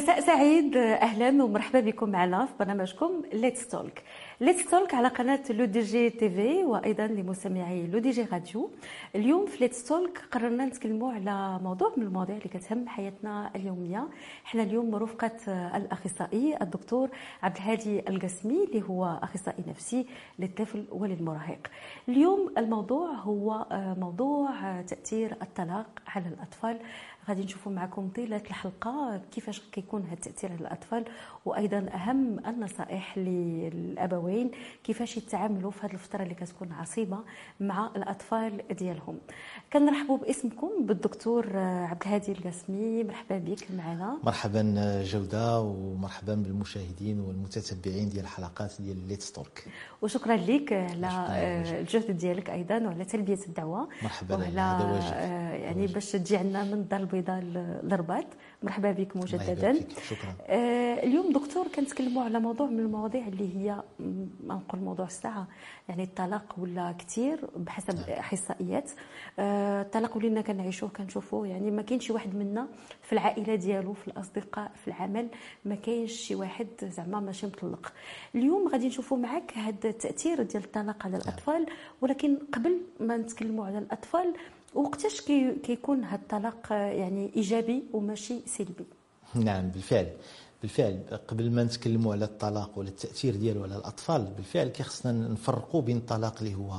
مساء سعيد، اهلا ومرحبا بكم معنا في برنامجكم ليتس توك. ليتس توك على قناه لو دي جي تي في وايضا لمستمعي لو دي جي راديو. اليوم في ليتس توك قررنا نتكلموا على موضوع من المواضيع اللي كتهم حياتنا اليوميه. احنا اليوم مرافقه الاخصائي الدكتور عبد الهادي القاسمي اللي هو اخصائي نفسي للطفل وللمراهق. اليوم الموضوع هو موضوع تاثير الطلاق على الاطفال. غادي نشوفوا معكم طيله الحلقه كيفاش كيكون هذا التاثير على الاطفال، وايضا اهم النصائح للابوين كيفاش يتعاملوا في هذه الفتره اللي كتكون عصيبه مع الاطفال ديالهم. كنرحبوا باسمكم بالدكتور عبد الهادي القاسمي، مرحبا بك معنا. مرحبا جوده، ومرحبا بالمشاهدين والمتتبعين ديال الحلقات ديال ليتس توك. وشكرا لك على الجهد ديالك ايضا وعلى تلبيه الدعوه. مرحبا، هذا واجب يعني باش تجي عندنا من الدار البيضاء للرباط. مرحبا بك مجددا. شكرا. اليوم دكتور كنتكلموا على موضوع من المواضيع اللي هي ما نقول موضوع الساعه، يعني الطلاق ولا كثير بحسب احصائيات. الطلاق ولينا كنعيشوه كنشوفوه، يعني ما كاينش شي واحد منا في العائله ديالو، في الاصدقاء، في العمل، ما كاينش شي واحد زعما ماشي مطلق. اليوم غادي نشوفوا معك هذا التاثير ديال الطلاق على الاطفال، ولكن قبل ما نتكلموا على الاطفال وقتاش كيكون هذا الطلاق يعني ايجابي وماشي سلبي؟ نعم، بالفعل قبل ما نتكلموا على الطلاق ولا التاثير ديالو على الاطفال، بالفعل كيخصنا نفرقوا بين الطلاق اللي هو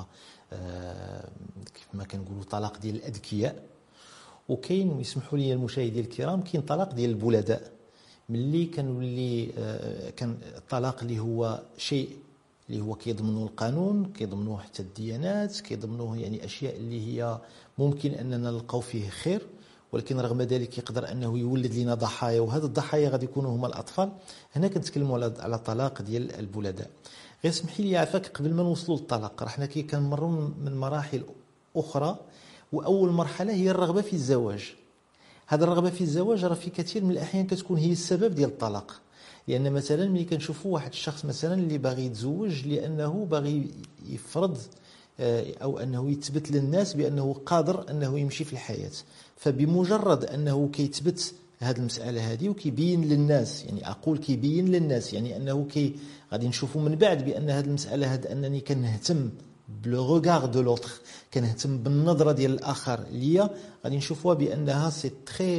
كيف ما كنقولوا طلاق ديال الاذكياء، وكاين ويسمحوا لي المشاهدين الكرام كاين طلاق ديال البلداء. ملي كنولي كان الطلاق اللي هو شيء اللي هو كيضمنه القانون، كيضمنه حتى الديانات، كيضمنه يعني اشياء اللي هي ممكن اننا نلقاو فيه خير، ولكن رغم ذلك يقدر انه يولد لنا ضحايا، وهذا الضحايا غادي يكونوا هما الاطفال. هنا كنتكلموا على الطلاق ديال البلداء. غير اسمحي لي عافاك، قبل ما نوصلوا للطلاق راه حنا كنمروا من مراحل اخرى، واول مرحله هي الرغبه في الزواج. هذا الرغبه في الزواج راه في كثير من الاحيان كتكون هي السبب ديال الطلاق. لان مثلا ملي كنشوفوا واحد الشخص مثلا اللي باغي يتزوج لانه باغي يفرض او انه يثبت للناس بانه قادر انه يمشي في الحياه، فبمجرد انه كيثبت هذه المساله هذه وكيبين للناس، يعني اقول كيبين للناس يعني انه غادي نشوفوا من بعد بان هذه المساله هذه انني كنهتم بلو ريغار دو لوتر، كنهتم بالنظره ديال الاخر ليا، غادي نشوفوها بانها سي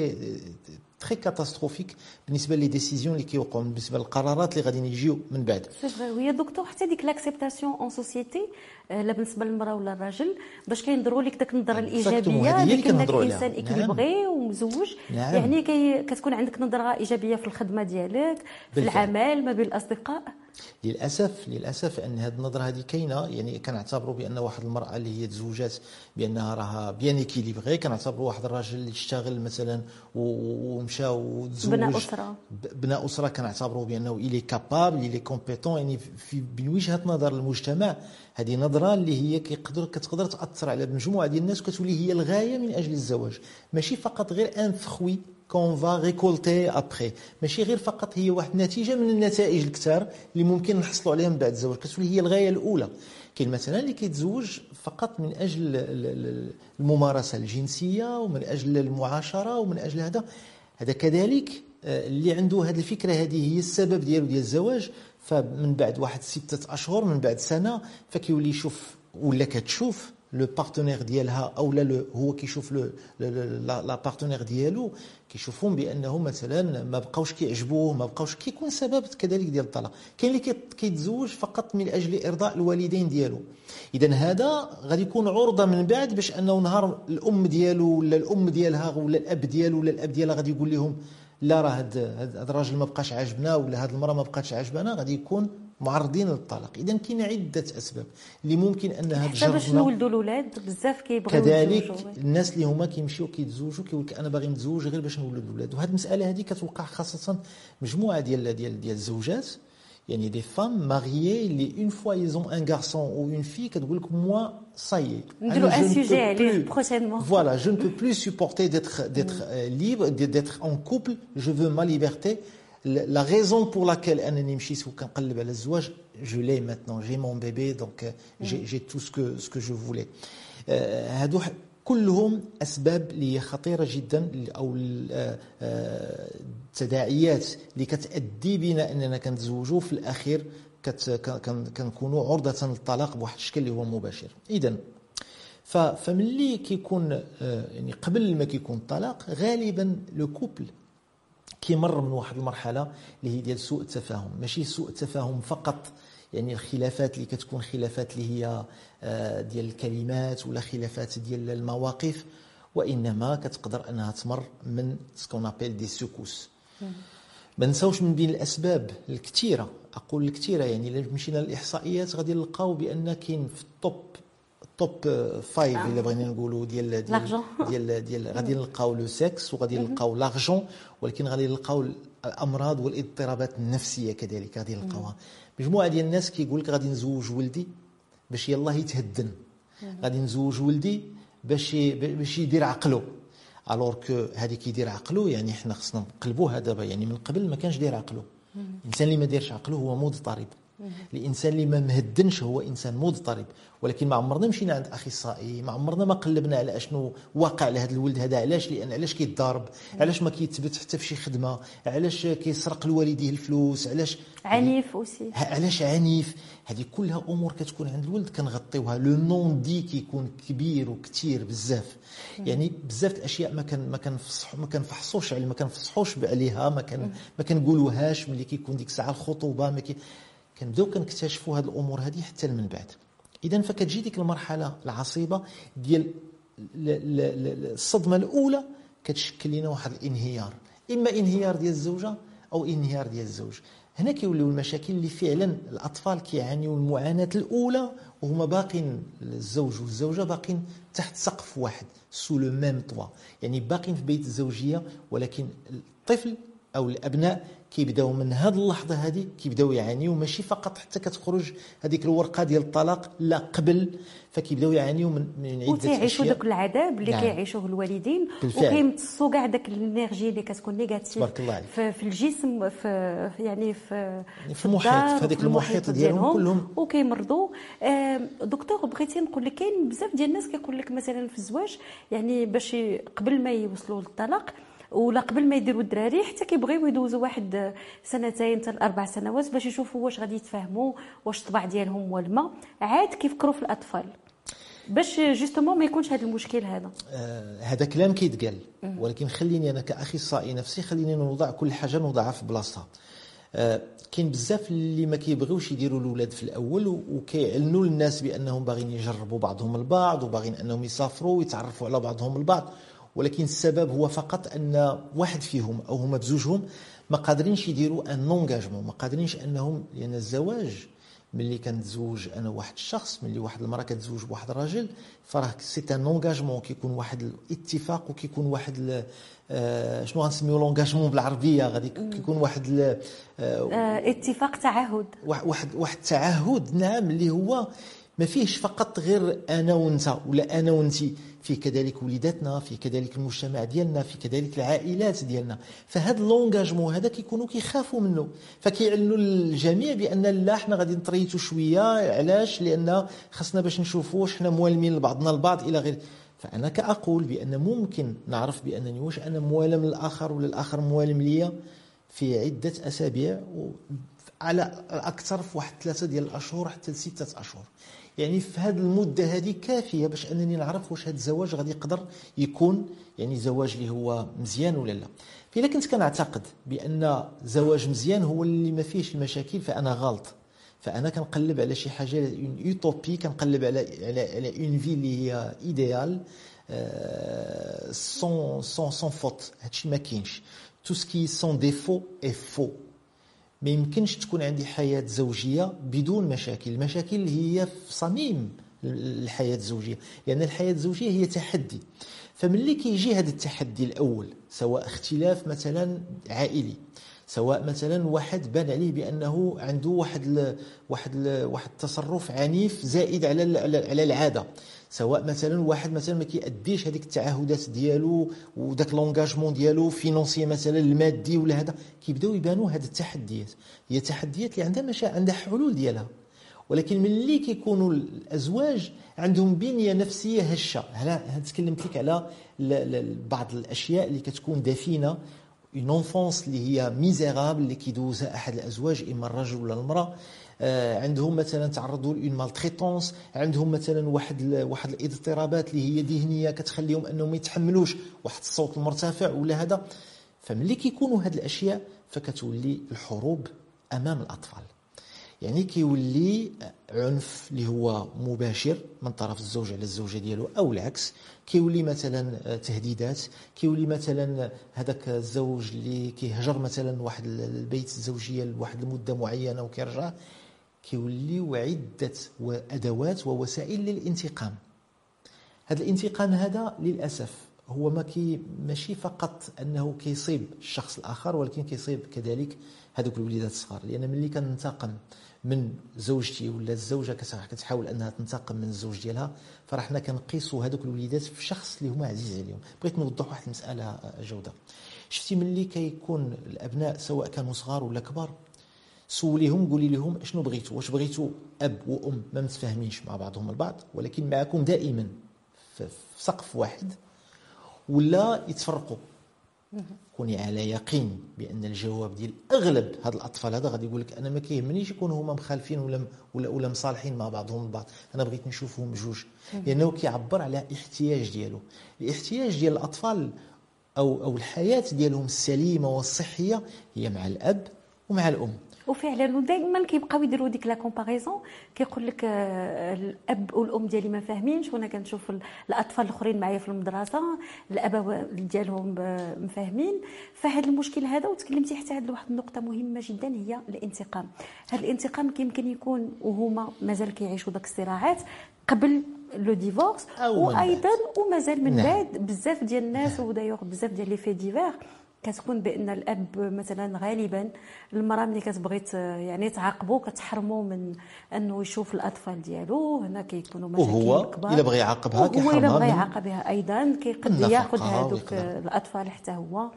تري كاتاستروفيك بالنسبه لي ديسيزيون اللي كيوقعوا، بالنسبه للقرارات اللي غادي يجيو من بعد. سي فري. ويا دكتور حتى ديك لاكسبتاسيون اون سوسيتي لا بالنسبه للمراه ولا الراجل، باش كينظروا لك داك النظره الايجابيه اللي كنك انسان اكليبغي ومزوج. نعم. يعني كتكون عندك نظره ايجابيه في الخدمه ديالك، في العمل، ما بين الاصدقاء. للاسف ان هذه النظره هذه كاينه. يعني كنعتبروا بان واحد المراه اللي هي تزوجات بانها راها بيان اكيليبغي، كنعتبروا واحد الراجل اللي اشتغل مثلا ومشى وتزوج بناء اسره كنعتبروا بانه الي كابابل الي كومبيتون. يعني من وجهه نظر المجتمع هذه نظره اللي هي كتقدر تاثر على مجموعه ديال الناس، وكتولي هي الغايه من اجل الزواج، ماشي فقط غير ان فخوي كون فا ريكولتي ابخي، ماشي غير فقط هي واحد النتيجه من النتائج الكثار اللي ممكن نحصلوا عليها من بعد الزواج، كتولي هي الغايه الاولى. كاين مثلا اللي كيتزوج فقط من اجل الممارسه الجنسيه ومن اجل المعاشره ومن اجل هذا كذلك اللي عنده هذه الفكره هذه هي السبب ديالو ديال الزواج. فمن بعد واحد 6 أشهر، من بعد سنه، فكيولي يشوف ولا كتشوف لو بارتنير ديالها او لا هو كيشوف لا بارتنير ديالو، كيشوفهم بانه مثلا ما بقاوش كيعجبوه، ما بقاوش كيكون سبب كذلك ديال الطلاق. كاين اللي كيتزوج فقط من اجل ارضاء الوالدين ديالو. اذا هذا غادي يكون عرضه من بعد باش انه نهار الام ديالو ولا الام ديالها ولا الاب ديالو ولا الاب ديالها غادي يقول لهم لا راه هذا الراجل ما بقاش عاجبنا ولا هذه المراه ما بقاتش عاجبنا، غادي يكون معرضين للطلاق. اذا كاين عده اسباب اللي ممكن انها تجربنا باش نولدوا الاولاد. بزاف كيبغيو كذلك الناس اللي هما كيمشيو كيتزوجوا كيقول لك انا باغي نتزوج غير باش نولد الاولاد. وهذه المساله هذه كتوقع خاصه مجموعه ديال الزوجات، يعني دي فام ماريي اللي اون فوا ايزون ان غارسون او اون في كتقول لك موا صاي نديروا ان سوجي عليه بروشينمون. فوالا جو نو بو بلو سوبورتي d'être libre d'être en couple, je veux ma liberté. La raison pour laquelle انني مشيت وكنقلب على الزواج je l'ai maintenant, j'ai mon bébé, donc j'ai tout ce que je voulais. هادو كلهم أسباب اللي هي خطيرة جدا، أو التداعيات اللي كتأدي بنا أننا كنتزوجوا في الأخير كنكونوا عرضة للطلاق بواحد الشكل اللي هو مباشر. إذن فملي كيكون يعني قبل ما كيكون الطلاق غالبا لو كوبل كيمر من واحد المرحلة اللي هي ديال سوء التفاهم. ماشي سوء التفاهم فقط، يعني الخلافات اللي كتكون خلافات اللي هي ديال الكلمات ولا خلافات ديال المواقف، وانما كتقدر انها تمر من سكون ابيل دي سوكوس. ما نساوش من بين الاسباب الكثيره، اقول الكثيره يعني الا مشينا للاحصائيات غادي نلقاو بان كاين في التوب 5 الا بغينا نقولوا ديال غادي نلقاو لو سكس، وغادي نلقاو لارجون، ولكن غادي نلقاو الامراض والاضطرابات النفسيه كذلك غادي نلقاوها. مجموعه ديال الناس كيقول لك غادي نزوج ولدي باش يلاه يتهدن، غادي نزوج ولدي باش يدير عقله. الوغ كو هذه كيدير عقله يعني حنا خصنا نقلبوها دابا، يعني من قبل ما كانش داير عقله. الانسان اللي ما دايرش عقله هو مضطرب، الانسان اللي ما مهدنش هو انسان مضطرب. ولكن ما عمرنا مشينا عند اخصائي، ما عمرنا ما قلبنا على اشنو واقع لهذا الولد هذا، علاش كيتضارب، علاش ما كيتثبت حتى في شي خدمه، علاش كيسرق لوالديه الفلوس، علاش عنيف اوسي، علاش عنيف. هذه كلها امور كتكون عند الولد كنغطيوها. لو نون دي كيكون كبير وكثير بزاف، يعني بزاف الاشياء ما كنفحصوش على ما كنفصحوش عليها، ما كنقولوهاش ملي كيكون ديك الساعه الخطوبه، كنبداو كنكتشفوا هذه الامور هذه حتى من بعد. اذا فكتجي ديك المرحله العصيبه ديال الصدمه الاولى كتشكل لنا واحد الانهيار، اما انهيار ديال الزوجه او انهيار ديال الزوج. هنا كيوليو المشاكل اللي فعلا الاطفال كيعانيوا المعاناه الاولى وهما باقين، الزوج والزوجه باقين تحت سقف واحد، سو لو ميم طوا، يعني باقين في بيت الزوجيه، ولكن الطفل او الابناء كيبداو من هذه اللحظه هذه كيبداو يعانيوا، ماشي فقط حتى كتخرج هذيك الورقه ديال الطلاق، لا قبل، فكيبداو يعانيوا من عده اشياء، وتيعيشوا داك العذاب اللي كيعيشوه الوالدين، وكيمتصوا كاع داك الانرجي اللي كتكون نيجاتيف في الجسم، في المحيط، في هذاك المحيط ديالهم كلهم، وكيمرضوا. دكتور بغيتي نقول لك كاين بزاف ديال الناس كيقول لك مثلا في الزواج، يعني باش قبل ما يوصلوا للطلاق ولا قبل ما يديروا الدراري حتى كيبغيو يدوزوا واحد 2 حتى 4 سنوات باش يشوفوا واش غادي يتفاهموا، واش الطبع ديالهم والما، عاد كيفكروا في الاطفال باش جوستومون ما يكونش هذا المشكل هذا. هذا كلام كيتقال، ولكن خليني انا كاخصائي نفسي خليني نوضع كل حاجه نوضعها في بلاصتها. كاين بزاف اللي ما كيبغيوش يديروا الاولاد في الاول، وكيعلنوا للناس بانهم باغيين يجربوا بعضهم البعض وباغيين انهم يسافروا ويتعرفوا على بعضهم البعض، ولكن السبب هو فقط ان واحد فيهم او هما بزوجهم ما قادرينش يديروا ان انغاجمون، ما قادرينش انهم، لان الزواج ملي كنتزوج انا واحد الشخص، ملي واحد المراه كتزوج بواحد الراجل، فراه سي ان انغاجمون، كيكون واحد الاتفاق، وكيكون واحد شنو غنسميو لونغاجمون بالعربيه، غادي كيكون واحد اتفاق، تعهد، واحد التعهد، نعم، اللي هو ما فيهش فقط غير انا وانت ولا انا وانتي، فيه كذلك وليداتنا، فيه كذلك المجتمع ديالنا، فيه كذلك العائلات ديالنا. فهذا لونغاجمون هذا كيكونوا كيخافوا منه، فكيعلنوا للجميع بان لا حنا غادي نطريتوا شويه، علاش؟ لان خاصنا باش نشوفوا واش حنا موالمين لبعضنا البعض الى غير. فانا كاقول بان ممكن نعرف بانني واش انا موالم للاخر ولا الاخر موالم ليا في عده اسابيع، على الاكثر في واحد 3 ديال الاشهر حتى ل6 اشهر. يعني في هذه المده هذه كافيه باش انني نعرف واش هذا الزواج غادي يقدر يكون يعني زواج اللي هو مزيان ولا لا. فإلا كنت كنعتقد بان زواج مزيان هو اللي ما فيهش المشاكل، فانا غلط. فانا كنقلب على شي حاجه اون يوتوبي، كنقلب على اون في اللي هي ايديال سون فوت. هادشي ما كاينش. تو سكي سون ديفو اي فو. ما يمكنش تكون عندي حياة زوجية بدون مشاكل. المشاكل هي في صميم الحياة الزوجية، لأن الحياة الزوجية هي تحدي. فملي كيجي هذا التحدي الأول، سواء اختلاف مثلا عائلي، سواء مثلا واحد بان عليه بأنه عنده واحد التصرف عنيف زائد على العادة، سواء مثلا واحد مثلا ما كيأديش هذيك التعهدات ديالو وداك لونغاجمون ديالو فينونسي مثلا المادي ولا هذا، كيبداو يبانوا هذه التحديات. هي تحديات اللي عندها عندها حلول ديالها، ولكن ملي كيكونوا الازواج عندهم بنيه نفسيه هشه. هنا تكلمت لك على بعض الاشياء اللي كتكون دفينه، اون انفونس اللي هي ميزيرابل اللي كيدوزها احد الازواج، اما الرجل ولا المراه. عندهم مثلا تعرضوا لون مالتريتونس، عندهم مثلا واحد الاضطرابات اللي هي ذهنيه كتخليهم انهم ما يتحملوش واحد الصوت المرتفع ولا هذا. فملي كيكونوا هاد الاشياء فكتولي الحروب امام الاطفال. يعني كيولي عنف اللي هو مباشر من طرف الزوج على الزوجه ديالو او العكس، كيولي مثلا تهديدات، كيولي مثلا هذاك الزوج اللي كيهجر مثلا واحد البيت الزوجيه لواحد المده معينه وكيرجع. كيوليو عده ادوات ووسائل للانتقام. هذا الانتقام هذا للاسف هو ماشي فقط انه كيصيب الشخص الاخر، ولكن كيصيب كذلك هذوك الوليدات الصغار. لان ملي كننتقم من زوجتي ولا الزوجه كتحاول انها تنتقم من الزوج ديالها، فراه حنا كنقيسوا هذوك الوليدات في شخص اللي هما عزيز عليهم. بغيت نوضح واحد المساله جوده. شفتي ملي كيكون الابناء سواء كانوا صغار ولا كبار، سوليهم قولي لهم شنو بغيتوا، واش بغيتوا اب وام ما متفاهمينش مع بعضهم البعض ولكن معكم دائما في سقف واحد، ولا يتفرقوا؟ كوني على يقين بان الجواب ديال اغلب هاد الاطفال هذا غادي يقول لك انا ما كيهمنيش يكونوا هما مخالفين ولا مصالحين مع بعضهم البعض، انا بغيت نشوفهم بجوج. لانه كيعبر على احتياج ديالو. الاحتياج ديال الاطفال او الحياه ديالهم السليمه والصحيه هي مع الاب ومع الام. وفعلا ودائما كيبقاو يديروا ديك لا كومباريزون، كيقول لك الاب والام ديالي ما فاهمينش، وانا كنشوف الاطفال الاخرين معايا في المدرسه الاباء ديالهم مفاهمين. فهذا المشكل هذا، وتكلمتي حتى على واحد النقطه مهمه جدا هي الانتقام. هذا الانتقام يمكن يكون وهما مازال كيعيشوا داك الصراعات قبل لو ديفورس، وايضا ومازال من بعد. بزاف ديال الناس ودايوغ بزاف ديال لي في ديفير كتكون بان الاب مثلا غالبا المراه ملي كتبغي يعني تعاقبو كتحرمو من انه يشوف الاطفال ديالو. هنا كيكونوا مشاكل كبار، وهو الا بغى يعاقبها كيحرمها، الا بغى يعاقبها ايضا كيقد ياخذ هذوك الاطفال حتى هو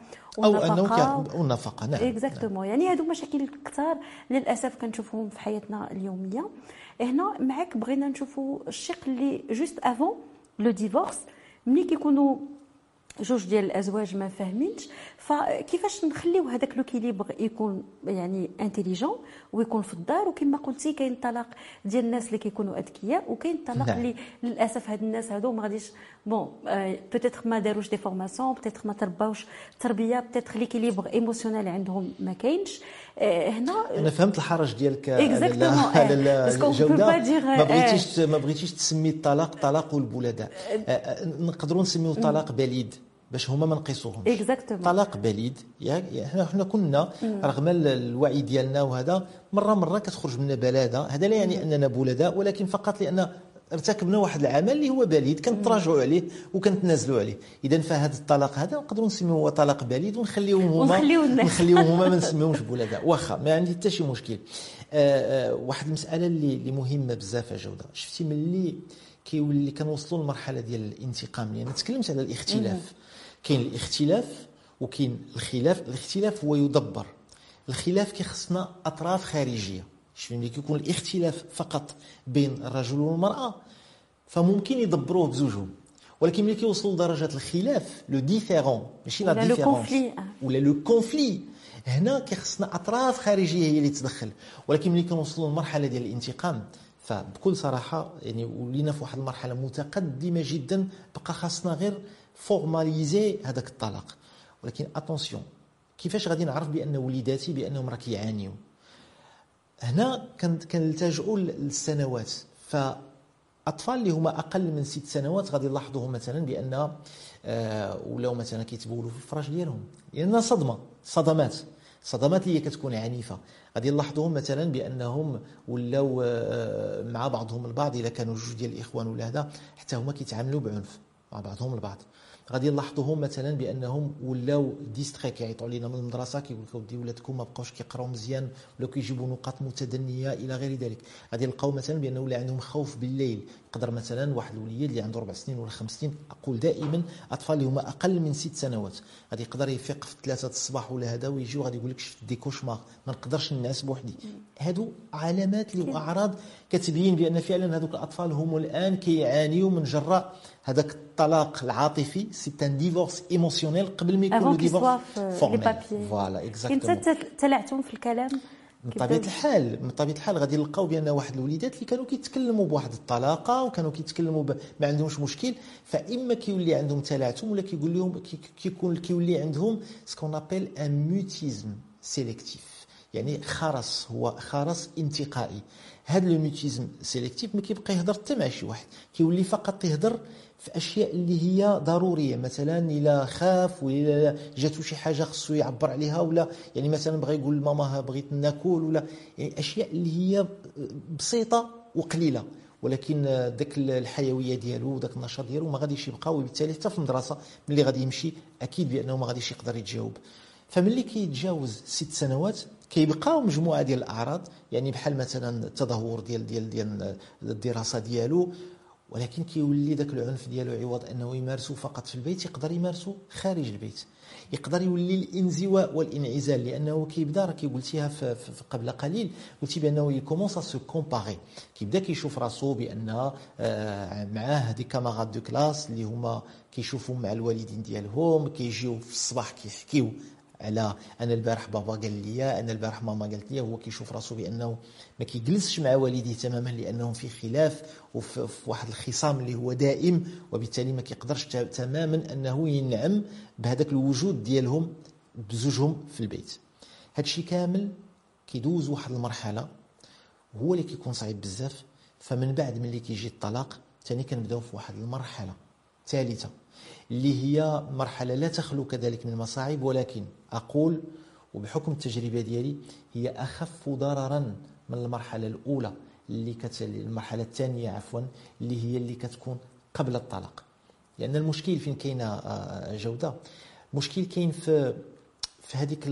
والنفقه. نعم اكزاكتومون. يعني هادو مشاكل كثار للاسف كنشوفهم في حياتنا اليوميه. هنا معك بغينا نشوفوا الشق اللي جوست افون لو ديفورس، ملي كيكونوا جوج ديال الازواج ما فاهمينش، فكيفاش نخليو هذاك لوكيليبر يكون يعني انتيليجون ويكون في الدار. وكما قلتي كاين الطلاق ديال الناس اللي كيكونوا اذكياء، وكاين الطلاق اللي للاسف هاد الناس هادو ما غاديش بون بوتيتر ما داروش دي فورماسيون، بوتيتر ما ترباوش تربيه، بوتيتر ليكيليبر ايموسيونيل عندهم ما كاينش. هنا انا فهمت الحرج ديالك على الجوده. ما بغيتيش تسمي الطلاق طلاق البلداء، نقدروا نسميوه طلاق بليد باش هما ما نقيسوهمش. طلاق بليد. حنا كنا رغم الوعي ديالنا وهذا مره كتخرج منا بلاده. هذا لا يعني اننا بلداء، ولكن فقط لان ارتكبنا واحد العمل اللي هو بليد كنتراجعوا عليه وكنتنازلوا عليه. اذا فهذا الطلاق هذا نقدروا نسميوه طلاق بليد ونخليوهم هما ما نسميوهمش بلداء، واخا ما عندي حتى شي مشكل. واحد المساله اللي مهمه بزاف يا جوده. شفتي ملي كيولي كنوصلوا للمرحله ديال الانتقام، لان تكلمت على الاختلاف. كاين الاختلاف وكاين الخلاف. الاختلاف هو يدبر، الخلاف كيخصنا اطراف خارجيه. شوف ملي كيكون الاختلاف فقط بين الرجل والمراه فممكن يدبروه بزوجهم، ولكن ملي كيوصلوا لدرجه الخلاف لو ديفيرون ماشي لا ديفيرونس ولا لو كونفلي، هنا كيخصنا اطراف خارجيه هي اللي تدخل. ولكن ملي كنوصلوا للمرحله ديال الانتقام فبكل صراحه يعني ولينا في واحد المرحله متقدمه جدا، بقى خاصنا غير فورماليزي هذاك الطلاق. ولكن اتونسيون، كيفاش غادي نعرف بان وليداتي بانهم راه كيعانيوا؟ هنا كنلتجؤوا للسنوات. فاطفال اللي هما اقل من 6 سنوات غادي نلاحظوهم مثلا بان ولاو مثلا كيتبولوا في الفراش ديالهم لان صدمات اللي كتكون عنيفه. غادي نلاحظوهم مثلا بانهم ولاو مع بعضهم البعض، اذا كانوا جوج ديال الاخوان ولا هذا حتى هما كيتعاملوا بعنف مع بعضهم البعض. غادي نلاحظوهم مثلا بانهم ولاو ديستري، كيعيطوا علينا من المدرسه كيقول لك ودي ولادكم ما بقاوش كيقراو مزيان ولا كيجيبوا نقاط متدنيه الى غير ذلك. غادي نلقاو مثلا بانه ولا عندهم خوف بالليل. يقدر مثلا واحد الوليد اللي عنده 4 سنين ولا 5 سنين، اقول دائما اطفال اللي هما اقل من 6 سنوات غادي يقدر يفيق في 3 الصباح ولا هذا ويجي وغادي يقول لك شفت دي كوشمار، ما نقدرش ننعس بوحدي. هادو علامات اللي واعراض كتبين بان فعلا هذوك الاطفال هم الان كيعانيوا من جراء هذاك الطلاق العاطفي. سي ان ديفورس ايموسيونيل قبل ما يكون ديفورس فورمال. فوالا اكزاكتومون. كنت تلعتم في الكلام من طبيعه الحال غادي نلقاو بان واحد الوليدات اللي كانوا كيتكلموا بواحد الطلاقه وكانوا كيتكلموا ما عندهمش مشكل، فاما كيولي عندهم تلعثم ولا كيقول لهم كيولي عندهم سكون ابل ان ميوتيزم سيليكتيف، يعني خرس، هو خرس انتقائي. هذا الميوتيزم سيليكتيف ما كيبقى يهضر حتى مع شي واحد، كيولي فقط يهضر في اشياء اللي هي ضروريه. مثلا الا خاف ولا جاتو شي حاجه خصو يعبر عليها، ولا يعني مثلا بغى يقول لماما بغيت ناكل، ولا يعني اشياء اللي هي بسيطه وقليله، ولكن داك الحيويه ديالو وداك النشاط ديالو ما غاديش يبقى، وبالتالي حتى في المدرسه ملي غادي يمشي اكيد بانه ما غاديش يقدر يتجاوب. فملي كيتجاوز 6 سنوات كيبقاو مجموعه ديال الاعراض، يعني بحال مثلا التدهور ديال الدراسه ديالو، ولكن كيولي داك العنف ديالو عوض انه يمارسو فقط في البيت يقدر يمارسو خارج البيت. يقدر يولي الانزواء والانعزال، لانه كيبدا راه قلتيها في قبل قليل، قلتي بانه يكومونس سو كومباري، كيبدا كيشوف راسو بان معاه دي كاماراد دو كلاس اللي هما كيشوفوا مع الوالدين ديالهم، كيجيو في الصباح كيحكيو على انا البارح بابا قال لي، انا البارح ماما قالت لي. هو كيشوف راسو بانه ما كيجلسش مع والديه تماما، لانهم في خلاف وفي واحد الخصام اللي هو دائم، وبالتالي ما كيقدرش تماما انه ينعم بهذاك الوجود ديالهم بزوجهم في البيت. هادشي كامل كيدوز واحد المرحله هو اللي كيكون صعيب بزاف. فمن بعد ملي كيجي الطلاق ثاني كنبداو في واحد المرحله ثالثه اللي هي مرحله لا تخلو كذلك من المصاعب، ولكن اقول وبحكم التجربه ديالي هي اخف ضررا من المرحله الاولى اللي المرحله الثانيه عفوا اللي هي اللي كتكون قبل الطلاق. لان المشكل فين كاينه جوده، المشكل كاين في هذيك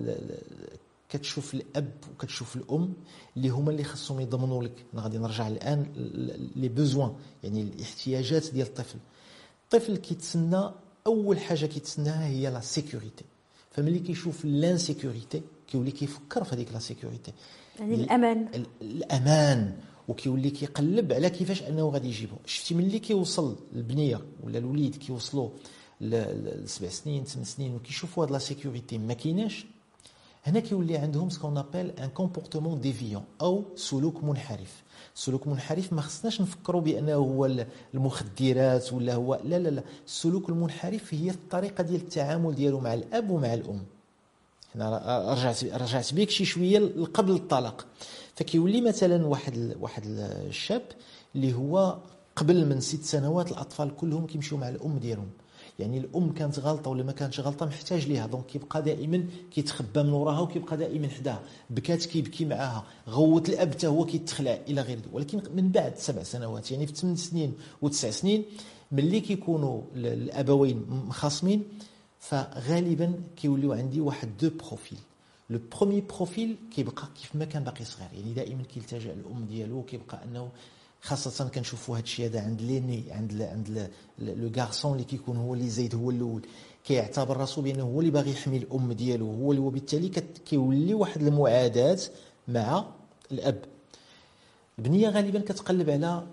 كتشوف الاب وكتشوف الام اللي هما اللي خصهم يضمنوا لك. انا غادي نرجع الان لي بوزوان، يعني الاحتياجات ديال الطفل. الطفل كيتسنى اول حاجه كيتسناها هي لا سيكوريتي، فملي كيشوف لانسيكوريتي كيولي كيفكر في هذيك لا سيكوريتي، يعني الامان، وكيولي كيقلب على كيفاش انه غادي يجيبه. شفتي ملي كيوصل البنيه ولا الوليد كيوصلوا ل 7 سنين 8 سنين وكيشوفوا هاد لا سيكوريتي ما كايناش، هنا كيولي عندهم سكون ابل ان كومبورتمون ديفيون او سلوك منحرف. السلوك المنحرف ما خصناش نفكروا بانه هو المخدرات ولا هو لا لا لا، السلوك المنحرف هي الطريقه ديال التعامل ديالو مع الاب ومع الام. هنا رجعت بك شي شويه قبل الطلاق. فكيولي مثلا واحد الشاب اللي هو قبل من 6 سنوات الاطفال كلهم كيمشيو مع الام ديالهم، يعني الام كانت غلطه ولا ما كانتش غلطه محتاج ليها، دونك كيبقى دائما كيتخبى من وراها وكيبقى دائما حداها، بكات كيبكي معاها، غوت الاب حتى هو كيتخلع الى غير. ولكن من بعد 7 سنوات يعني في 8 سنين و9 سنين ملي كيكونوا الابوين مخاصمين، فغالبا كيوليو عندي واحد دو بروفيل. لو بروميي بروفيل كيبقى كيف ما كان باقي صغير، يعني دائما كيلتجئ الام ديالو، كيبقى انه خاصه كنشوفوا هذا الشيء هذا عند ليني، عند لو غارسون اللي كيكون هو اللي زايد هو الاول، كيعتبر راسو بانه هو اللي باغي يحمي الام ديالو، هو اللي وبالتالي كيولي واحد المعاداه مع الاب. البنيه غالبا كتقلب على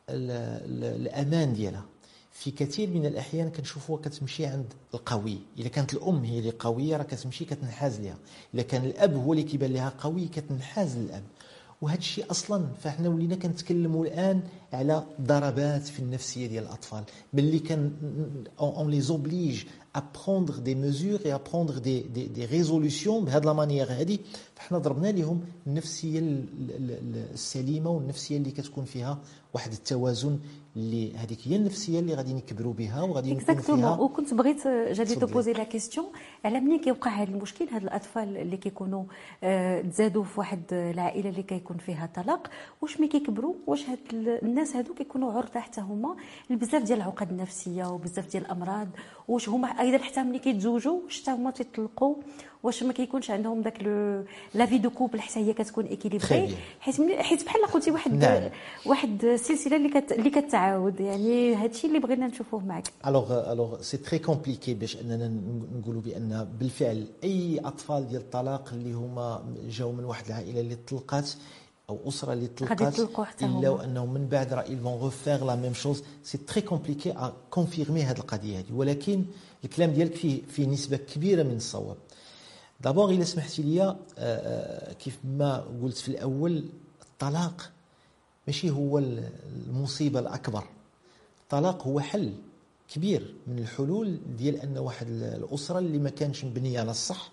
الامان ديالها. في كثير من الاحيان كنشوفوها كتمشي عند القوي، اذا كانت الام هي اللي قويه راه كتمشي كتنحاز ليها، اذا كان الاب هو اللي كيبان لها قوي كتنحاز للاب. وهذا الشيء اصلا فاحنا ولينا كنتكلموا الان على ضربات في النفسيه ديال الاطفال، ملي كان اون لي زوبليج ا بروندر دي ميزور اي ا بروندر دي ريزولوسيون بهذه لا مانيير هذه، فحنا ضربنا لهم النفسيه السليمه والنفسيه اللي كتكون فيها واحد التوازن، اللي هذيك هي النفسيه اللي غادي نكبروا بها وغادي نكون فيها. وكنت بغيت جادي توبوزي لا كيستيون على ملي كيوقع هذا المشكل، هاد الاطفال اللي كيكونوا تزادوا في واحد العائله اللي كيكون فيها طلاق، واش ملي كيكبروا واش هاد الناس هادو كيكونوا عرضه حتى هما لبزاف ديال العقد النفسيه وبزاف ديال الامراض، واش هما ايضا حتى ملي كيتزوجوا واش حتى هما تيطلقوا، واش ما كيكونش عندهم داك لا في دو كوبل حتى هي كتكون اكيليبري، حيت بحال قلتي واحد السلسله اللي كتعاود، يعني هادشي اللي بغينا نشوفوه معك. الوغ سي تري كومبليكي باش اننا نقولوا بان بالفعل اي اطفال ديال الطلاق اللي هما جاوا من واحد العائله اللي طلقات او اسره اللي طلقات الا وانهم من بعد راه ils vont refaire la même chose. سي تري كومبليكي ا كونفيرمي هذه القضيه هذه، ولكن الكلام ديالك فيه نسبه كبيره من الصواب. دابور الا سمحتي لي، كيف ما قلت في الاول، الطلاق ماشي هو المصيبه الاكبر. الطلاق هو حل كبير من الحلول ديال ان واحد الاسره اللي ما كانش مبنيه على الصح،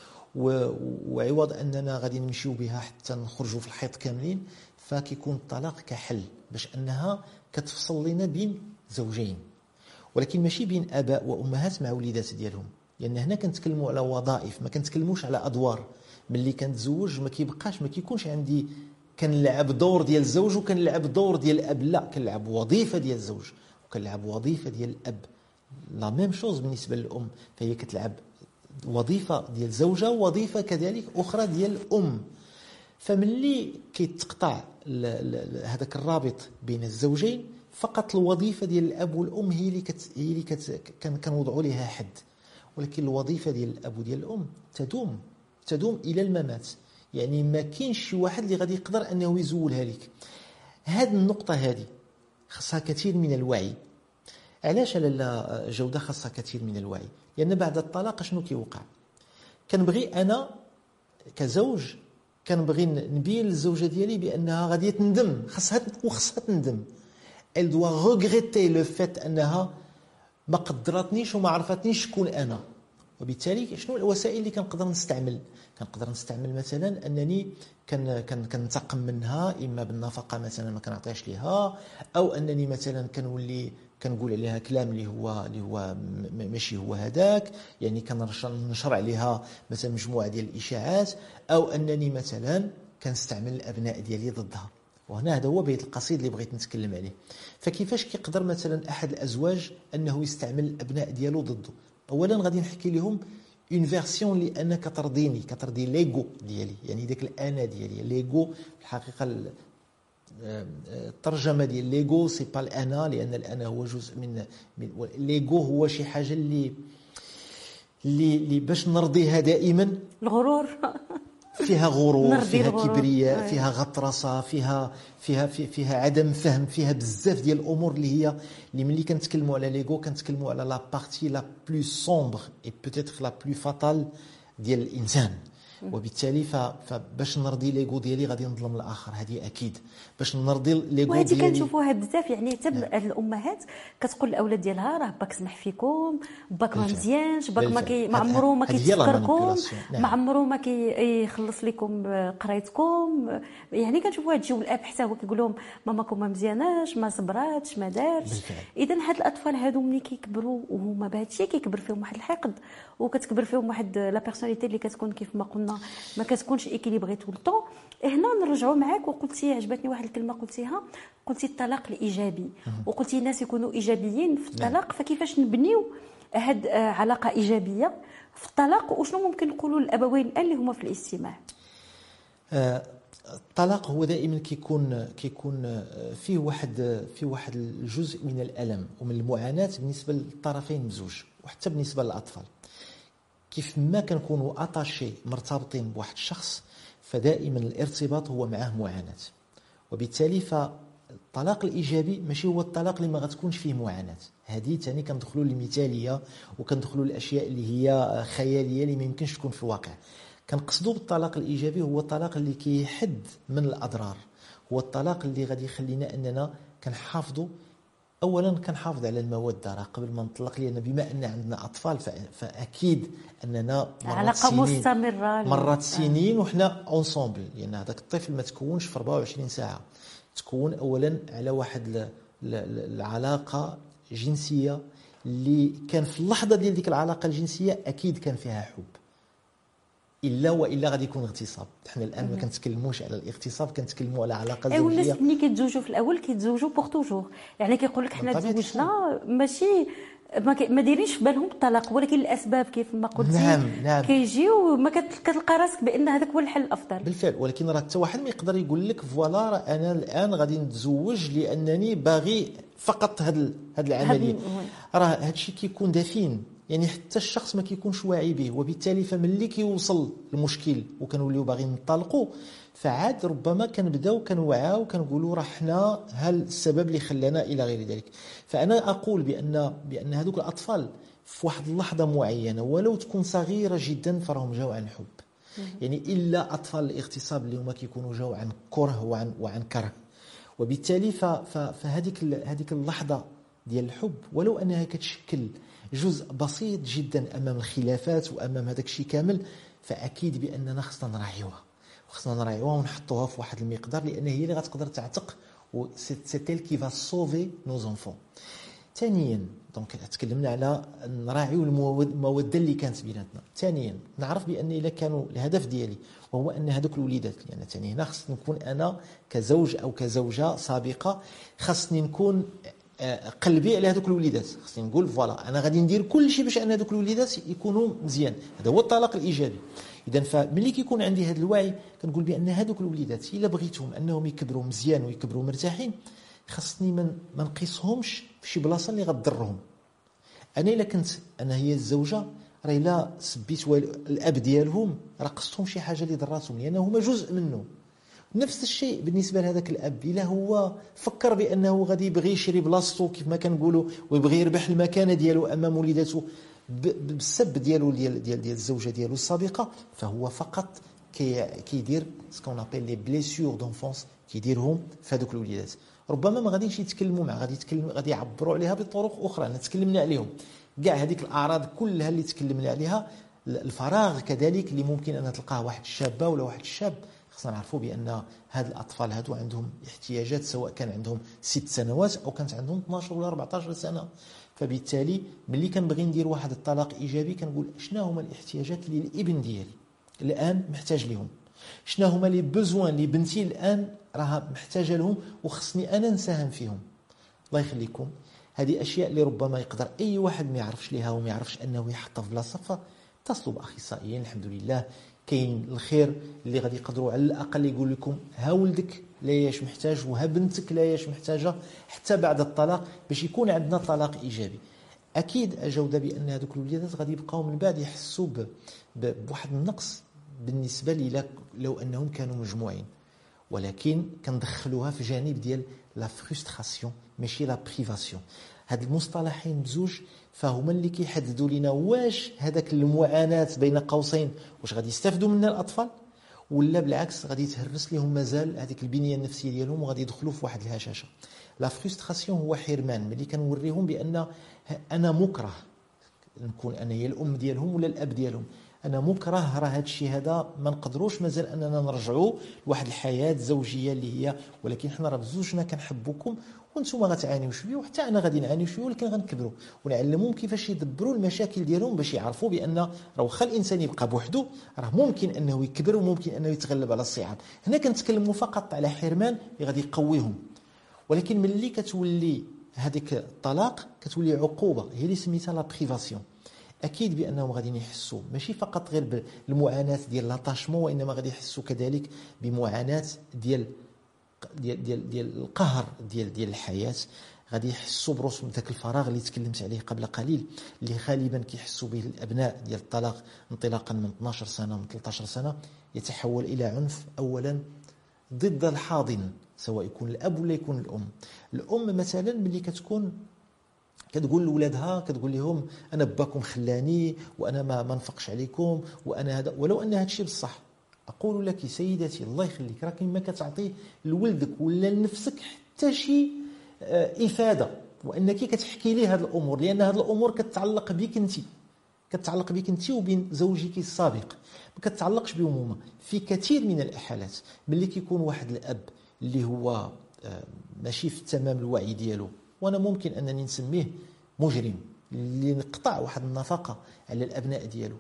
وعوض اننا غادي نمشيو بها حتى نخرجوا في الحيط كاملين، فكيكون الطلاق كحل باش انها كتفصل لنا بين زوجين، ولكن ماشي بين اباء وامهات مع وليدات ديالهم، لان هنا كنتكلموا على وظائف، ما كنتكلموش على ادوار. ملي كنتزوج ما كيكونش عندي كنلعب دور ديال الزوج وكنلعب دور ديال الاب، لا، كنلعب وظيفه ديال الزوج وكنلعب وظيفه ديال الاب. لا ميم شوز بالنسبه للام، فهي كتلعب وظيفه ديال الزوجه ووظيفه كذلك اخرى ديال الام. فملي كيتقطع هذاك الرابط بين الزوجين، فقط الوظيفه ديال الاب والام هي اللي كنوضعوا لها حد، ولكن الوظيفه ديال الاب وديال الام تدوم الى الممات. يعني ما كاينش شي واحد اللي غادي يقدر انه يزولها لك. هذه النقطه هذه خاصها كثير من الوعي. علاش لاله جوده خاصها كثير من الوعي؟ لان بعد الطلاق شنو كيوقع؟ كنبغي انا كزوج كنبغي نبين للزوجه ديالي بانها غادي تندم، خاصها تندم. elle doit regretter le fait انها ما قدرتنيش وما عرفتنيش شكون انا. وبالتالي شنو الوسائل اللي كنقدر نستعمل مثلا انني كنتقم منها، اما بالنفقه مثلا ما كنعطيهاش ليها، او انني مثلا كنولي كنقول عليها كلام اللي هو ماشي هو هذاك، يعني كنشر عليها مثلا مجموعه ديال الاشاعات، او انني مثلا كنستعمل الابناء ديالي ضدها. وهنا هذا هو بيت القصيد اللي بغيت نتكلم عليه. فكيفاش كيقدر مثلا احد الازواج انه يستعمل الابناء ديالو ضده؟ اولا غادي نحكي لهم اون فيرسيون اللي انا كترضي ليغو ديالي، يعني داك الانا ديالي. ليغو الحقيقه الترجمه ديال ليغو سي با الانا، لان الانا هو جزء من ليغو، هو شي حاجه اللي باش نرضيها دائما. الغرور فيها غرور، فيها كبرياء، فيها غطرسه، فيها عدم فهم، فيها بزاف ديال الامور اللي ملي كنتكلموا على ليغو كنتكلموا على لا بارتي لا بلو سومبر اي بوتيتر لا بلو فاتال ديال الانسان. وبالتالي فباش نرضي ليغو ديالي غادي نظلم الاخر، هذه اكيد. باش نرضي ليغو وهذه ديالي كنشوفوها بزاف، يعني حتى الامهات كتقول للاولاد ديالها راه باك سمح فيكم، باك ما مزيانش، باك ما عمرو ما كيتفكركم، ما عمرو ما كيخلص لكم قرايتكم. يعني كنشوفوا هذا الجو، الاب حتى هو كيقول لهم ماماكم ما مزياناش، ما صبراتش، ما دارتش. اذا هاد الاطفال هادو ملي كيكبروا وهما بهذا الشيء كيكبر فيهم واحد الحقد، وكتكبر فيهم واحد لا بيرسوناليتي اللي كتكون كيف ما قلنا ما كتكونش ايكيليبري طول الطون. هنا نرجعوا معاك، وقلتي عجبتني واحد الكلمه قلتيها، قلتي الطلاق الايجابي، وقلتي الناس يكونوا ايجابيين في الطلاق. فكيفاش نبنيو هاد علاقه ايجابيه في الطلاق، وشنو ممكن نقولوا للابوين اللي هما في الاجتماع؟ الطلاق هو دائما كيكون فيه واحد الجزء من الالم ومن المعاناه بالنسبه للطرفين بزوج، وحتى بالنسبه للاطفال. كيف ما كنكونوا اتاشي مرتبطين بواحد الشخص، فدائما الارتباط هو معه معاناه. وبالتالي فالطلاق الايجابي ماشي هو الطلاق اللي ما غتكونش فيه معاناه. هذه ثاني كندخلوا للمثاليه وكندخلوا للاشياء اللي هي خياليه اللي ما يمكنش تكون في الواقع. كنقصدوا بالطلاق الايجابي هو الطلاق اللي كيحد من الاضرار، هو الطلاق اللي غادي يخلينا اننا كنحافظوا اولا كنحافظ على الموده، راه قبل ما نطلق، لان بما ان عندنا اطفال فاكيد اننا علاقه مستمره مرات سنين وحنا اونسومبل، لان هذاك الطفل ما تكونش في 24 ساعه، تكون اولا على واحد العلاقه جنسيه اللي كان في اللحظه ديال ديك العلاقه الجنسيه اكيد كان فيها حب، والا غادي يكون اغتصاب. حنا الان ما كنتكلموش على الاغتصاب، كنتكلموا على علاقه زوجيه. والناس ملي كيتزوجوا في الاول كيتزوجوا بوغ توجور، يعني كيقول لك حنا تزوجنا ماشي ما دايرينش في بالهم الطلاق، ولكن الاسباب كيف ما قلتي نعم. كيجيو ما كتلقى راسك بان هذاك هو الحل الافضل بالفعل. ولكن راه حتى واحد ما يقدر يقول لك فوالا راه انا الان غادي نتزوج لانني باغي فقط هاد العمليه. راه هادشي كيكون دفين، يعني حتى الشخص ما كيكونش واعي به، وبالتالي فملي كيوصل المشكل وكنوليو باغيين نطلقوا، فعاد ربما كنبداو كنوعاو كنقولوا راه حنا هل السبب اللي خلانا الى غير ذلك. فانا اقول بان هذوك الاطفال في واحد اللحظه معينه ولو تكون صغيره جدا فراهم جاو عن حب. يعني الا اطفال الاغتصاب اللي هما كيكونوا جاو عن كره وعن كره، وبالتالي فهذيك اللحظه ديال الحب ولو انها كتشكل جزء بسيط جدا امام الخلافات وامام هذاك الشيء كامل، فاكيد باننا خصنا نراعيوها ونحطوها في واحد المقدار، لان هي اللي غتقدر تعتق، و سي تيل كي فا سوفي نو زونفون. ثانيا دونك تكلمنا على نراعيو الموده اللي كانت بيناتنا. ثانيا نعرف بان الا كانوا الهدف ديالي وهو ان هذوك الوليدات، لان يعني ثاني هنا خصني نكون انا كزوج او كزوجه سابقه، خصني نكون قلبي على هذوك الوليدات، خصني نقول فوالا انا غادي ندير كل شيء باش ان هذوك الوليدات يكونوا مزيان. هذا هو الطلاق الايجابي. اذا فملي كيكون عندي هذا الوعي كنقول بان هذوك الوليدات الا بغيتهم انهم يكبروا مزيان ويكبروا مرتاحين، خصني ما نقيسهمش في شي بلاصه اللي غتضرهم. انا الا كنت انا هي الزوجه، راه الا سبيت الاب ديالهم راه قصتهم شي حاجه اللي ضراتهم، لان هما جزء منه. نفس الشيء بالنسبه لهذاك الاب، الا هو فكر بانه غادي يبغي يشري بلاصتو كيف ما كنقولوا ويبغي يربح المكانه ديالو امام وليداته بالسب ديالو ديال الزوجه ديالو السابقه، فهو فقط كيدير سكون ابيل لي بليسيور دونفونس، كيديرهم في هذوك الوليدات. ربما ما غاديش يتكلموا معاه، غادي يعبروا عليها بطرق اخرى تكلمنا عليهم، كاع هذيك الاعراض كلها اللي تكلمنا عليها. الفراغ كذلك اللي ممكن ان تلقاه واحد الشابه ولا واحد الشاب، خصنا نعرفوا بان هاد الاطفال هادو عندهم احتياجات، سواء كان عندهم 6 سنوات او كانت عندهم 12 ولا 14 سنه. فبالتالي ملي كنبغي ندير واحد الطلاق ايجابي كنقول شنو هما الاحتياجات اللي الابن ديالي الان محتاج لهم، شنو هما لي بوزوان اللي بنتي الان راها محتاجه لهم وخصني انا نساهم فيهم. الله يخليكم، هذه اشياء اللي ربما يقدر اي واحد ما يعرفش ليها وما يعرفش انه يحطها في بلاصه، فاتصلوا باخصائيين. الحمد لله كاين الخير اللي غادي يقدروا على الاقل يقول لكم ها ولدك لا ياش محتاج وها بنتك لا ياش محتاجه، حتى بعد الطلاق باش يكون عندنا طلاق ايجابي. اكيد اجاوب بان هذوك الوليدات غادي يبقاو من بعد يحسوا بواحد النقص بالنسبه لي لو انهم كانوا مجموعين، ولكن كندخلوها في جانب ديال لا فرستراسيون ماشي لا بريفاسيون. هاد المصطلحين بزوج فهما اللي كيحددوا لنا واش هذاك المعاناه بين قوسين واش غادي يستافدوا منها الاطفال، ولا بالعكس غادي تهرس لهم مازال هذيك البنيه النفسيه ديالهم وغادي يدخلوا في واحد الهشاشه. لا فرستراسيون هو حرمان، ملي كنوريهم بان انا مكره نكون انا هي الام ديالهم ولا الاب ديالهم، انا مكره، راه هذا الشيء هذا ما نقدروش مازال اننا نرجعوا لواحد الحياه زوجيه اللي هي، ولكن حنا راه بزوجنا كنحبوكم وانتم غتعانيوا شويه وحتى انا غادي نعاني شويه، ولكن غنكبروا ونعلمهم كيفاش يدبروا المشاكل ديالهم باش يعرفوا بان راه واخا الانسان يبقى بوحده راه ممكن انه يكبر وممكن انه يتغلب على الصعاب. هنا كنتكلموا فقط على حرمان اللي غادي يقويهم، ولكن ملي كتولي هذيك الطلاق كتولي عقوبه هي اللي سميتها لا بريفاسيون. اكيد بانهم غادي يحسوا ماشي فقط غير بالمعاناه ديال لاتاشمون، وانما غادي يحسوا كذلك بمعاناه ديال القهر ديال الحياه، غادي يحسوا برسم ذاك الفراغ اللي تكلمت عليه قبل قليل اللي غالبا كيحسوا به الابناء ديال الطلاق انطلاقا من 12 سنه ومن 13 سنه، يتحول الى عنف اولا ضد الحاضن، سواء يكون الاب ولا يكون الام. الام مثلا ملي كتقول لولادها كتقول لهم انا باكم خلاني وانا ما نفقش عليكم وانا هذا، ولو ان هذا الشيء بصح. اقول لك سيدتي الله يخليك راك ما كتعطي لولدك ولا لنفسك حتى شي افاده، وانك كتحكي ليه هذه الامور، لان هذه الامور كتعلق بك انت، كتعلق بك انت وبين زوجك السابق، ما كتعلقش بهم هما. في كثير من الاحالات ملي كيكون واحد الاب اللي هو ماشي في تمام الوعي ديالو، وانا ممكن انني نسميه مجرم اللي نقطع واحد النفقه على الابناء ديالو،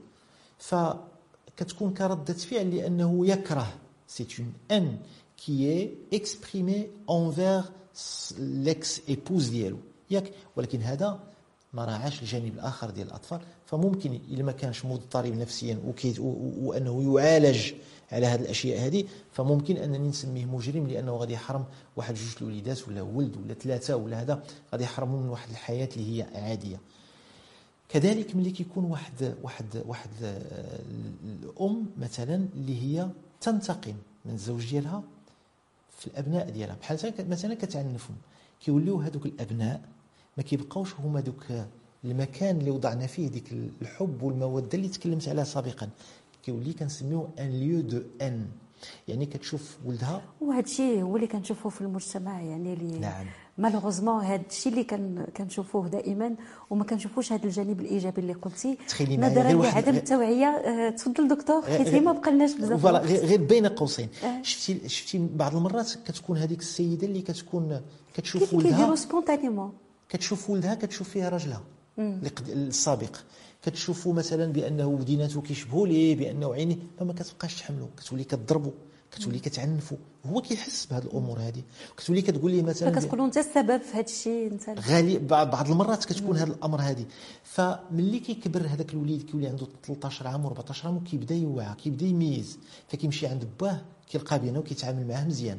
فكتكون كردة فعل لانه يكره. سي اون ان كي اي اكسبريمي انفير ليكس ايبوز ديالو ياك، ولكن هذا ما راعاش الجانب الاخر ديال الاطفال. فممكن الا ما كانش مضطرب نفسيا وانه يعالج على هذه الاشياء هذه، فممكن انني نسميه مجرم، لانه غادي يحرم واحد جوج الوليدات ولا ولد ولا ثلاثه ولا هذا، غادي يحرموا من واحد الحياه اللي هي عاديه. كذلك ملي كيكون واحد الام مثلا اللي هي تنتقم من الزوج ديالها في الابناء ديالها، بحال مثلا كتعنفهم، كيوليو هذوك الابناء ما كيبقاوش هما دوك المكان اللي وضعنا فيه ديك الحب والموده اللي تكلمت عليها سابقا، كيولي كنسميوه ان ليو دو ان. يعني كتشوف ولدها، وهذا الشيء هو اللي كنشوفوه في المجتمع، يعني اللي نعم مالوغوزمون هذا الشيء اللي كنشوفوه دائما، وما كنشوفوش هذا الجانب الايجابي اللي قلتي، تخيلي معايا نظرا غير لعدم التوعيه. تفضل دكتور، حيت ما بقالناش بزاف. فوالا غير بين قوسين، شفتي بعض المرات كتكون هذيك السيده اللي كتشوف ولدها كيديروا سبونتانيمون، كتشوف ولدها كتشوف فيها راجلها السابق، كتشوفوا مثلا بانه وديناته كيشبهوا ليه، بانه عيني، فما كتبقاش تحملو، كتولي كتضربو، كتولي كتعنفو، هو كيحس بهذه الامور هذه، كتولي كتقول ليه مثلا فكتقولوا انت السبب في هذا الشيء انت. غالي بعض المرات كتكون هذا الامر هذه. فملي كيكبر هذاك الوليد كيولي عنده 13 عام و14 عام وكيبدا يوعى، كيبدا يميز، فكيمشي عند باه كيلقى بينه وكيتعامل معاه مزيان.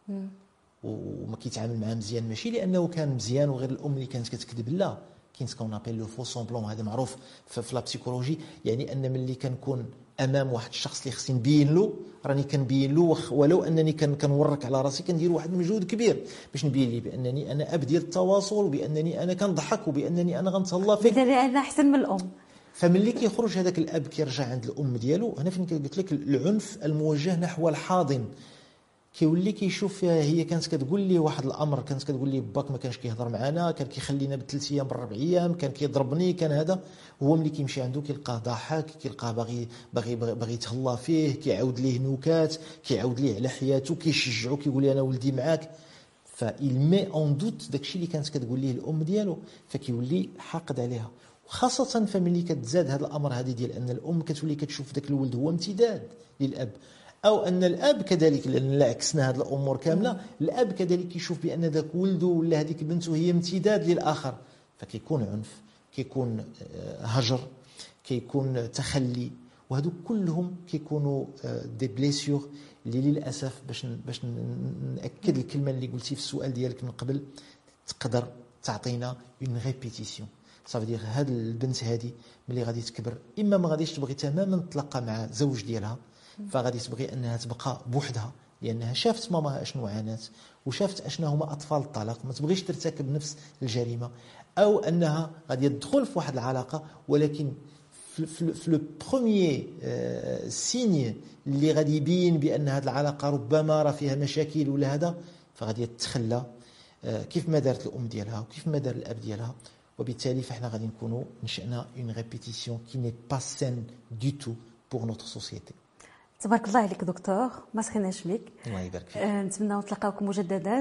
وما كيتعامل معاه مزيان ماشي لانه كان مزيان وغير الام اللي كانت كتكذب، لا، كاين سكون ابيل لو فو سومبلون، هذا معروف في لا بسيكولوجي، يعني ان ملي كنكون امام واحد الشخص اللي خصني نبين له، راني كنبين له ولو انني كنورك على راسي، كندير واحد المجهود كبير باش نبين ليه بانني انا اب ديال التواصل، وبانني انا كنضحك، وبانني انا غنتهلا فيك، بالتالي انا احسن من الام. فملي كيخرج هذاك الاب كيرجع عند الام ديالو، هنا فين قلت لك العنف الموجه نحو الحاضن، كيولي كيشوف فيها هي كانت كتقول لي واحد الامر، كانت كتقول لي باك ما كانش كيهضر معنا، كان كيخلينا ب3 ايام ب4 ايام، كان كيضربني، كان هذا. هو ملي كيمشي عنده كيلقاه ضاحك، كيلقاه باغي يتهلا فيه، كيعاود ليه نكات، كيعاود ليه على حياته، كيشجعو، كيقول لي انا ولدي معاك. فإل مي اون دوت داكشي اللي كانت كتقول ليه الام ديالو، فكيولي حاقد عليها. وخاصه فملي كتزاد هذا الامر هذه ديال ان الام كتولي كتشوف داك الولد هو امتداد للاب، او ان الاب كذلك، لان عكسنا هذه الامور كامله، الاب كذلك يشوف بان ذاك ولده ولا هذيك بنته هي امتداد للاخر، فكيكون عنف، كيكون هجر، كيكون تخلي، وهذو كلهم كيكونوا دي بليسيور اللي للاسف باش ناكد الكلمه اللي قلتي في السؤال ديالك من قبل، تقدر تعطينا اون ريبيتيسيون. صافي دير هاد البنت هذه ملي غادي تكبر، اما ما غاديش تبغي تماما تتلقى مع زوج ديالها، فغادي تبغي انها تبقى بوحدها، لانها شافت ماماها اشنو عانات، وشافت اشنو هما اطفال الطلاق، ما تبغيش ترتكب نفس الجريمه، او انها غادي تدخل في واحد العلاقه، ولكن في لو بروميير سيني اللي غادي يبين بان هذه العلاقه ربما راه فيها مشاكل ولا هذا، فغادي تتخلى كيف ما دارت الام ديالها وكيف ما دار الاب ديالها، وبالتالي فاحنا غادي نكونوا نشأنا اون ريبيتيسيون كي ني با سين دو تو بور نوتر سوسيتي. تبارك الله عليك دكتور، ما سخيناش بك. الله يبارك فيك. نتمنى نتلاقاوكم مجددا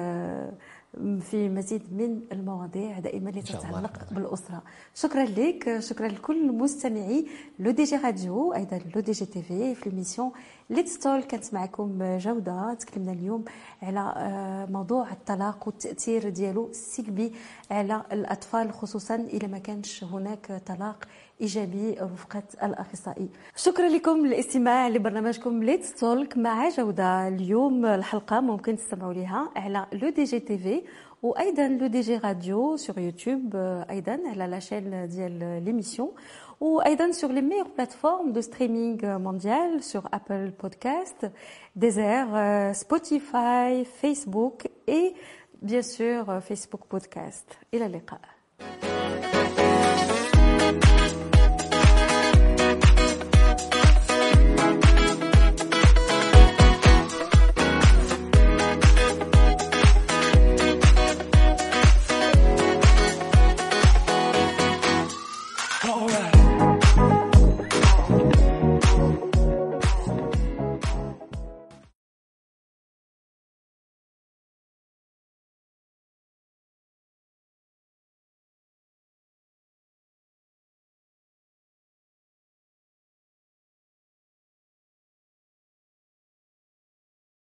في مزيد من المواضيع دائما اللي تتعلق بالاسره. شكرا لك، شكرا لكل مستمعي لو دي جي راديو، ايضا لو دي جي تي في الميسيون ليتس تول. كانت معكم جوده، تكلمنا اليوم على موضوع الطلاق والتاثير ديالو السلبي على الاطفال، خصوصا اذا ما كانش هناك طلاق ايجابي رفقه الاخصائي. شكرا لكم للاستماع لبرنامجكم ليتس تولك مع جوده. اليوم الحلقه ممكن تستمعوا لها على لو دي جي تي وايضا لو دي جي راديو سور يوتيوب، ايضا على لا شين ديال ليميسيون، وايضا sur les meilleures plateformes de streaming mondial, sur Apple Podcast, Deezer, Spotify, Facebook et bien sûr Facebook Podcast. الى اللقاء.